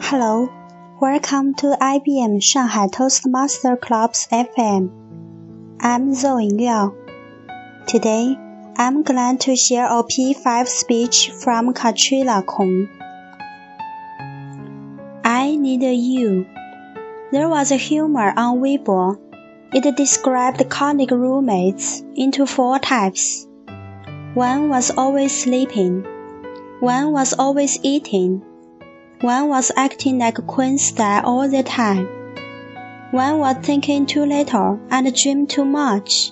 Hello, welcome to IBM Shanghai Toastmaster Club's FM. I'm Zoe Liao. Today, I'm glad to share a P5 speech from Katrina Kong. I Need You. There was a humor on Weibo. It described colleague roommates into 4 types. One was always sleeping. One was always eating. One was acting like Queen style all the time. One was thinking too little and dreamed too much.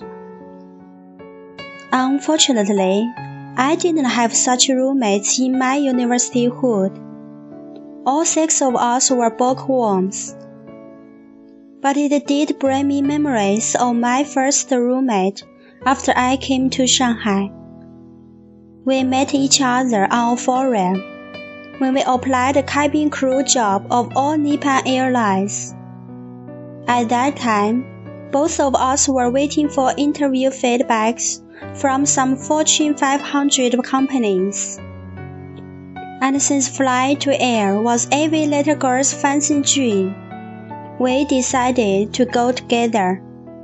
Unfortunately, I didn't have such roommates in my universityhood. All 6 of us were bookworms. But it did bring me memories of my first roommate after I came to Shanghai. We met each other on a forum when we applied the cabin crew job of all Nippon Airlines. At that time, both of us were waiting for interview feedbacks from some Fortune 500 companies. And since flying to air was every little girl's fancy dream, we decided to go together.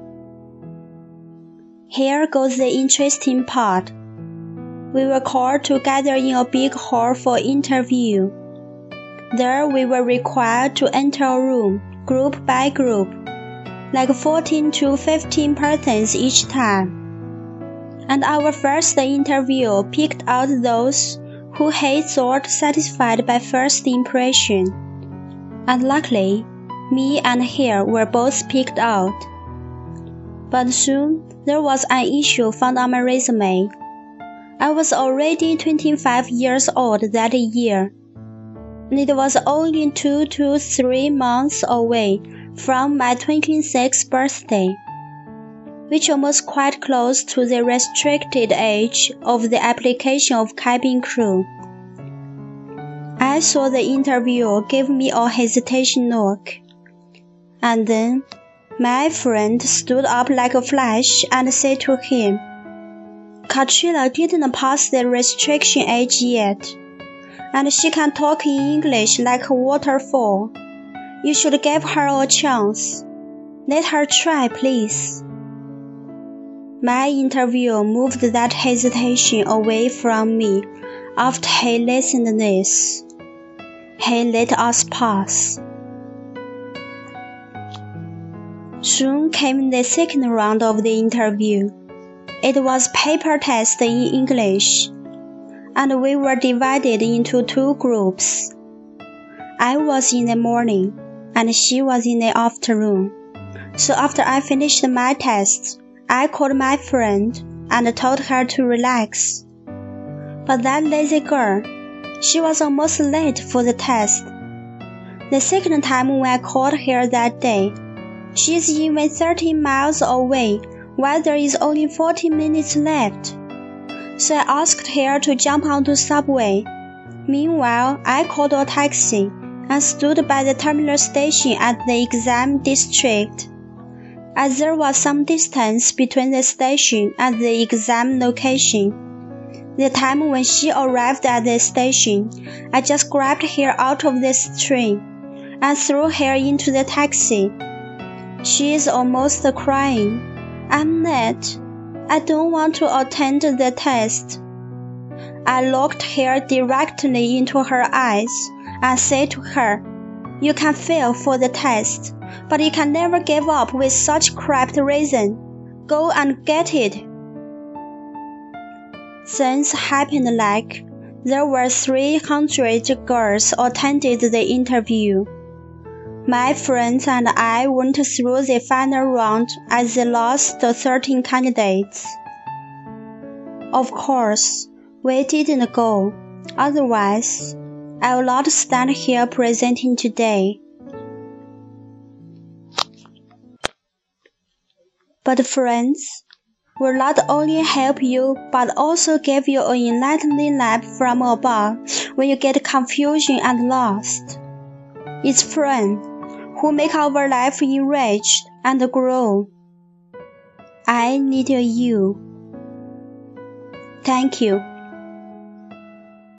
Here goes the interesting part. We were called together in a big hall for interview. There we were required to enter a room, group by group, like 14 to 15 persons each time. And our first interview picked out those who had thought satisfied by first impression. And luckily, me and Hare were both picked out. But soon, there was an issue found on my resume. I was already 25 years old that year, and it was only 2 to 3 months away from my 26th birthday, which was quite close to the restricted age of the application of cabin crew. I saw the interviewer give me a hesitation look, and then my friend stood up like a flash and said to him, Katrina didn't pass the restriction age yet, and she can talk in English like a waterfall. You should give her a chance. Let her try, please. My interviewer moved that hesitation away from me after he listened to this. He let us pass. Soon came the second round of the interview. It was paper test in English, and we were divided into 2 groups. I was in the morning, and she was in the afternoon. So after I finished my test, I called my friend and told her to relax. But that lazy girl, she was almost late for the test. The second time when I called her that day, she is even 30 miles away while there is only 40 minutes left. So I asked her to jump onto subway. Meanwhile, I called a taxi and stood by the terminal station at the exam district. As there was some distance between the station and the exam location, the time when she arrived at the station, I just grabbed her out of the train and threw her into the taxi. She is almost crying. I'm not. I don't want to attend the test. I looked her directly into her eyes and said to her, You can fail for the test, but you can never give up with such crap reason. Go and get it. Things happened like there were 300 girls attended the interview. My friends and I went through the final round as the last 13 candidates. Of course, we didn't go, otherwise, I will not stand here presenting today. But friends will not only help you but also give you an enlightening lap from above when you get confusion and lost. It's friends who make our life enriched and grow. I need you. Thank you.